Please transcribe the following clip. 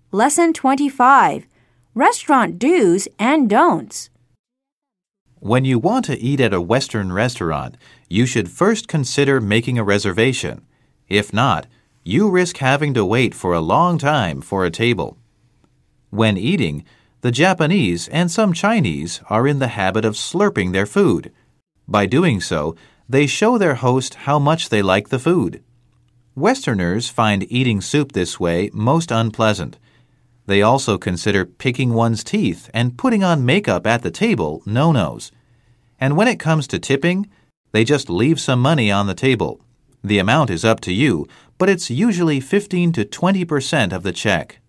Lesson 25. Restaurant Do's and Don'ts. When you want to eat at a Western restaurant, you should first consider making a reservation. If not, you risk having to wait for a long time for a table. When eating, the Japanese and some Chinese are in the habit of slurping their food. By doing so, they show their host how much they like the food. Westerners find eating soup this way most unpleasant. They also consider picking one's teeth and putting on makeup at the table no-nos. And when it comes to tipping, they just leave some money on the table. The amount is up to you, but it's usually 15 to 20% of the check.